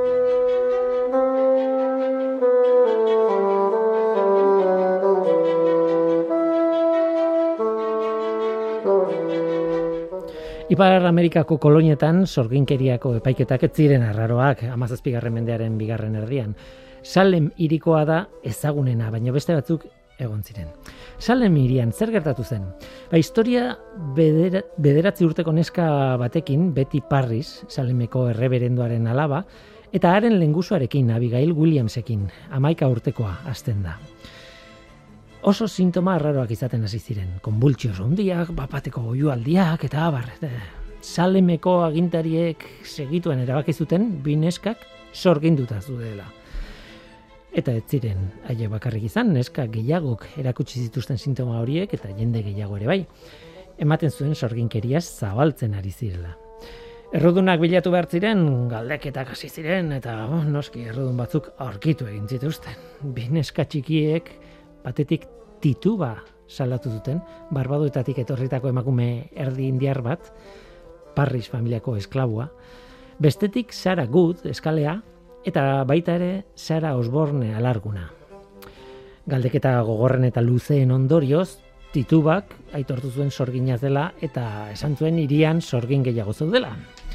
Ipar Amerikako kolonietan sorginkeriako epaiketak ez ziren arraroak 17. mendearen 2. erdian. Salem hirikoa da ezagunena, baina beste batzuk egon ziren. Salem hirian zer gertatu zen? Historia 9 urteko neska batekin, Betty Parris, Salemeko erreberendoaren alaba, eta haren lengusuarekin, Abigail Williamsekin, 11 urtekoa hasten da. Oso sintoma arraroak izaten hasi ziren, konbultsios handiak, bapateko oihualdiak eta abar. Salemeko agintariek segituen erabaki zuten 2 neskak sorginduta zudela. Eta ez ziren haie bakarrik izan, neska gehiagok erakutsi zituzten sintoma horiek eta jende gehiago ere bai. Ematen zuen sorginkeriaz zabaltzen ari zirela. Errudunak bilatu behar ziren, galdeketak hasi ziren eta noski errudun batzuk aurkitu egin zituzten. 2 neska txikiek batetik tituba salatu zuten, Barbadoetatik etorritako emakume erdi indiar bat, Parris familiako esklabua, bestetik Sarah Good eskalea, eta baita ere Sarah Osborne alarguna. Galdeketa gogorren eta luzeen ondorioz, titubak aitortu zuen sorginaz dela eta esan zuen hirian sorgin gehiago zeudela.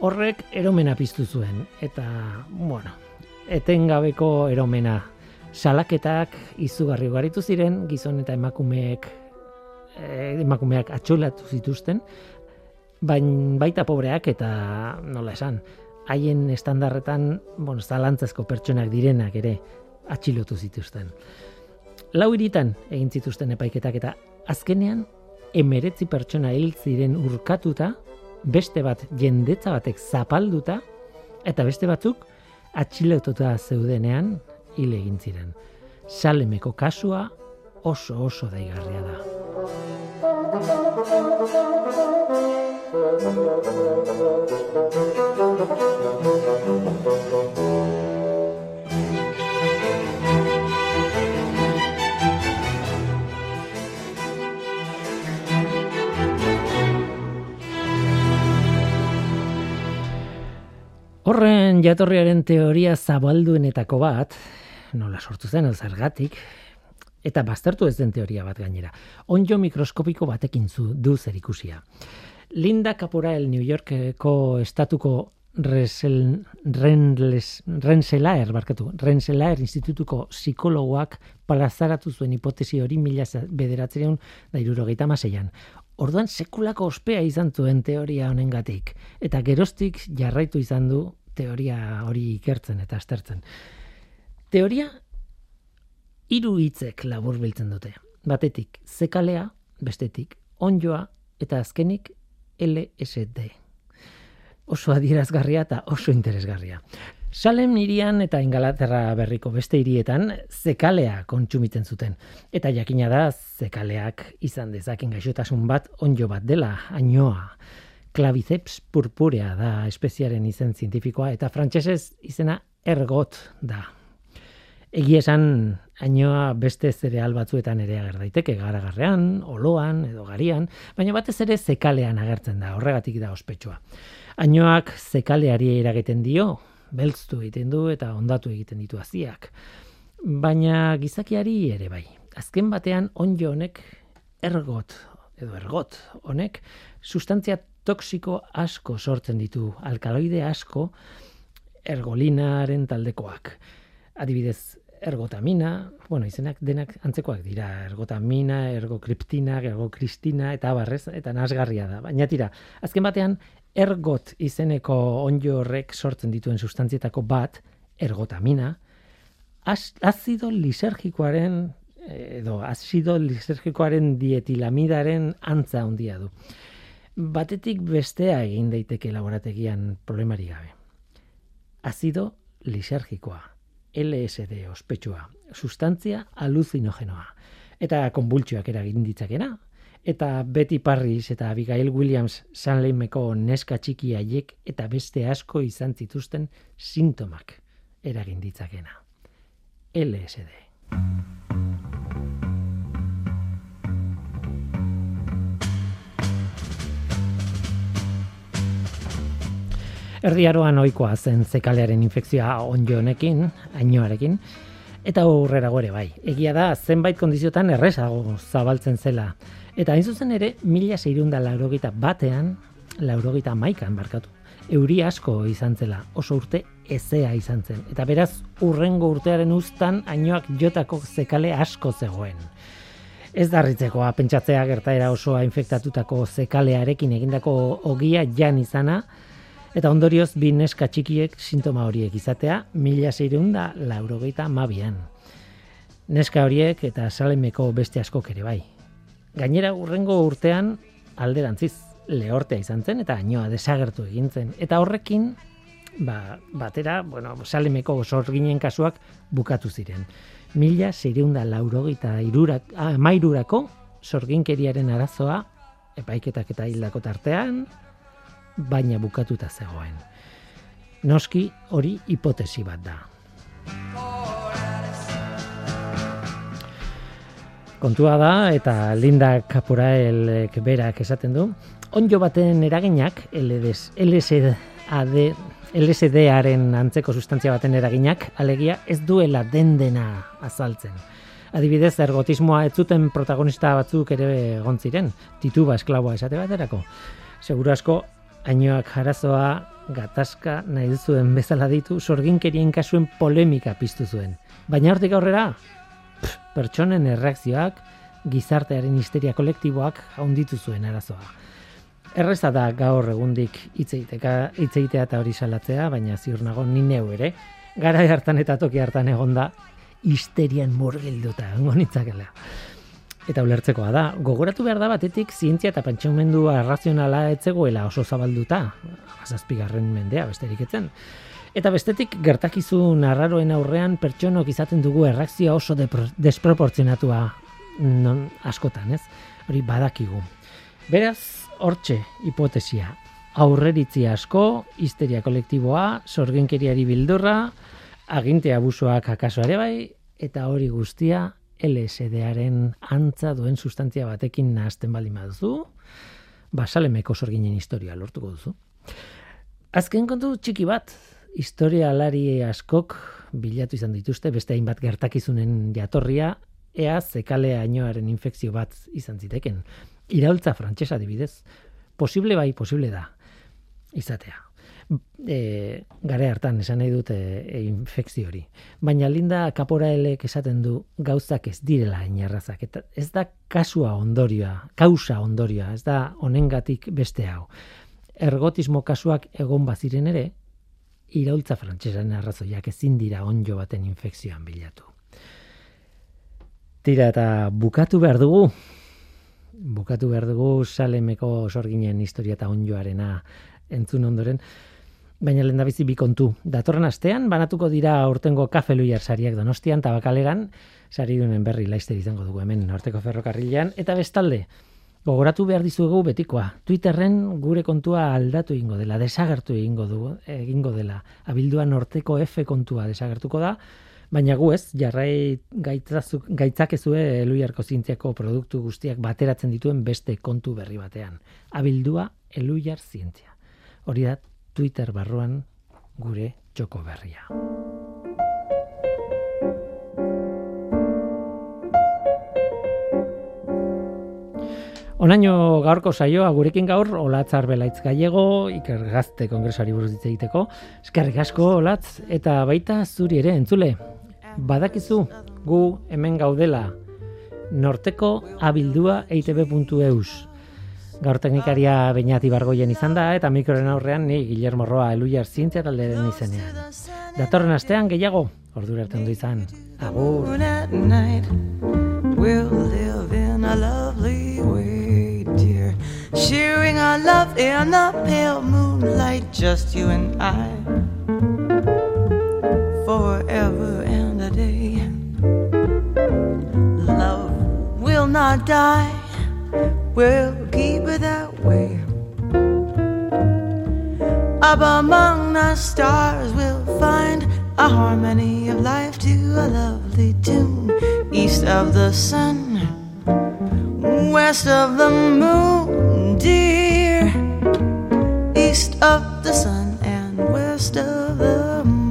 Horrek eromena piztu zuen, eta, etengabeko eromena. Salaketak izugarri ugaritu ziren, gizon eta emakumeak atxolatu zituzten, baita pobreak eta nola esan, haien estandarretan, zalantzazko pertsonak direnak ere atxilotu zituzten. 4 hiritan egin zituzten epaiketak eta azkenean 19 pertsona hil ziren urkatuta, beste bat jendetza batek zapalduta eta beste batzuk atxilotuta zeudenean hil egin ziren. Salemeko kasua oso daigarria da. Horren jatorriaren teoria zabalduenetako bat, nola sortu zen, zergatik, eta baztertu ez den teoria bat gainera. Onddo mikroskopiko batekin du zerikusia. Linda Caporael New Yorkeko estatuko Rensselaer institutuko psikologoak plazaratu zuen hipotesi hori 1976an. Orduan sekulako ospea izan zuen teoria honengatik, eta geroztik jarraitu izan du teoria hori ikertzen eta aztertzen. Teoria 3 hitzek laburbiltzen dute. Batetik zekalea, bestetik onddoa eta azkenik LSD. Oso adierazgarria eta oso interesgarria. Salem hirian eta Ingalaterra berriko beste hirietan zekalea kontsumitzen zuten. Eta jakina da zekaleak izan dezaken gaixotasun bat onddo bat dela, ainoa. Claviceps purpurea da espeziaren izen zientifikoa eta frantsesez izena ergot da. Egia esan, ainoa beste zereal batzuetan ere ager daiteke, garagarrean, oloan edo garian, baina batez ere zekalean agertzen da, horregatik da ospetsua. Ainoak zekaleari eragiten dio, beltztu egiten du eta ondatu egiten ditu haziak. Baina gizakiari ere bai. Azken batean onddo honek ergot honek sustantzia toxiko asko sortzen ditu, alkaloide asko ergolinaren taldekoak. Adibidez, ergotamina, izenak denak antzekoak dira, ergotamina, ergokriptina, ergokristina eta barrez, eta nasgarria da. Baina tira, azken batean ergot izeneko onddo horrek sortzen dituen sustantzietako bat, ergotamina, azido lisergikoaren dietilamidaren antza handia du. Batetik bestea egin daiteke laborategian problemari gabe. Azido lisergikoa, LSD ospetsua, sustantzia aluzinogenoa, eta konbultsioak eragin ditzakena, eta Betty Parris eta Abigail Williams Salemeko neska txiki haiek eta beste asko izan zituzten sintomak eragin ditzakena. LSD. Erdi Aroan ohikoa zen zekalearen infekzioa onddo honekin, ainoarekin, eta aurrerago ere bai. Egia da, zenbait kondiziotan errezago zabaltzen zela. Eta hain zuzen ere, 1681an, euri asko izan zela, oso urte ezea izan zen. Eta beraz, hurrengo urtearen uztan, ainoak jotako zekale asko zegoen. Ez darritzekoa pentsatzea gertaera osoa infektatutako zekalearekin egindako ogia jan izana, eta ondorioz bi neska txikiek sintoma horiek izatea 1682an. Neska horiek eta Salemeko beste askok ere bai. Gainera hurrengo urtean alderantziz lehortea izan zen eta ainoa desagertu egin zen. Eta horrekin batera, Salemeko sorginen kasuak bukatu ziren. 1683ko sorginkeriaren arazoa epaiketak eta hildako tartean, baina bukatuta zegoen. Noski hori hipotesi bat da. Kontua da, eta Linda Caporaelek berak esaten du, onddo baten eraginak, LSD-aren antzeko sustantzia baten eraginak, alegia ez duela dena azaltzen. Adibidez, ergotismoa ez zuten protagonista batzuk ere egon ziren, tituba esklaboa esate baterako. Seguru asko, ainoak arazoa gatazka nahi duzuen bezala ditu, sorginkerien kasuen polemika piztu zuen. Baina hortik aurrera, pertsonen erreakzioak, gizartearen histeria kolektiboak handitu zuen arazoa. Erreza da gaur egundik hitzeitea eta hori salatzea, baina ziur nago ni neu ere, garai hartan eta toki hartan egonda histerian murgilduta egongo nitzakela. Eta ulertzekoa da, gogoratu behar da batetik zientzia eta pentsamendu arrazionala etzegoela oso zabalduta, 7. mendea besterik etzen. Eta bestetik gertakizun arraroen aurrean pertsonok izaten dugu erreakzioa oso desproportzionatua askotan, ez? Hori badakigu. Beraz, hortxe hipotesia. Aurreritzi asko, histeria kolektiboa, sorginkeriari bildurra, aginte abusoak akaso ere bai, eta hori guztia LSD-aren antza duen sustantzia batekin nahazten baldin baduzu, Salemeko sorginen historia lortuko duzu. Azken kontu txiki bat, historialari askok bilatu izan dituzte beste hainbat gertakizunen jatorria, ea zekale ainoaren infekzio bat izan ziteken. Iraultza frantsesa adibidez, posible bai, posible da izatea. Gare hartan esan nahi dut infekzio hori. Baina Linda Caporaelek esaten du gauzak ez direla inerrazak. Eta ez da kausa ondorioa, ez da honengatik beste hau. Ergotismo kasuak egon baziren ere, iraultza frantsesaren arrazoiak ezin dira onjo baten infekzioan bilatu. Tira eta bukatu behar dugu Salemeko sorginen historia eta onjoarena entzun ondoren, baina lehendabizi bi kontu. Datorren astean banatuko dira aurtengo Kafe Luiar sariak Donostian, Tabakaleran, saridunen berri laizter izango dugu hemen Norteko Ferrokarrilean, eta bestalde, gogoratu behar dizuegu betikoa. Twitterren gure kontua aldatu egingo dela, desagertu egingo dela. Abildua Norteko F kontua desagertuko da, baina gu ez, jarrai gaitzakezue Eluiarko zientziako produktu guztiak bateratzen dituen beste kontu berri batean. Abildua Eluiar zientzia. Hori da Twitter barruan gure txoko berria. Onaino gaurko saioa gurekin gaur Olatz Arbelaitz Gallego, Iker Gazte kongresuari buruz hitz egiteko. Eskerrik asko Olatz, eta baita zuri ere entzule. Badakizu gu hemen gaudela Norteko abildua eitb.eus. Gaur teknikaria Beñat Ibargoien izan da, eta mikroren aurrean ni Guillermo Roa Eluiar zientzia taldearen izenean. Datorren astean gehiago, ordura arte ondo izan. Agur. We'll live in a lovely way, dear, sharing our love in the pale moonlight, just you and I, forever and a day. Love will not die, we'll keep it that way. Up among the stars we'll find a harmony of life to a lovely tune. East of the sun, west of the moon, dear. East of the sun and west of the moon.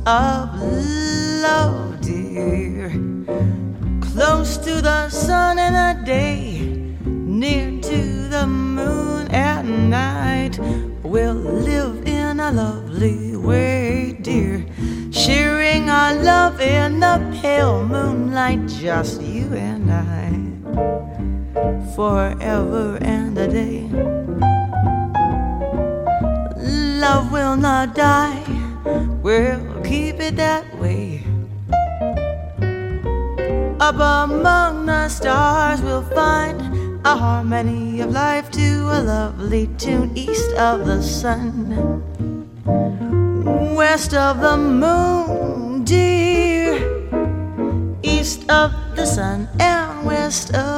of love, dear. Close to the sun in the day, near to the moon at night. We'll live in a lovely way, dear, sharing our love in the pale moonlight, just you and I, forever and a day. Love will not die, we'll keep it that way. Up among the stars we'll find a harmony of life to a lovely tune, east of the sun, west of the moon, dear, east of the sun and west of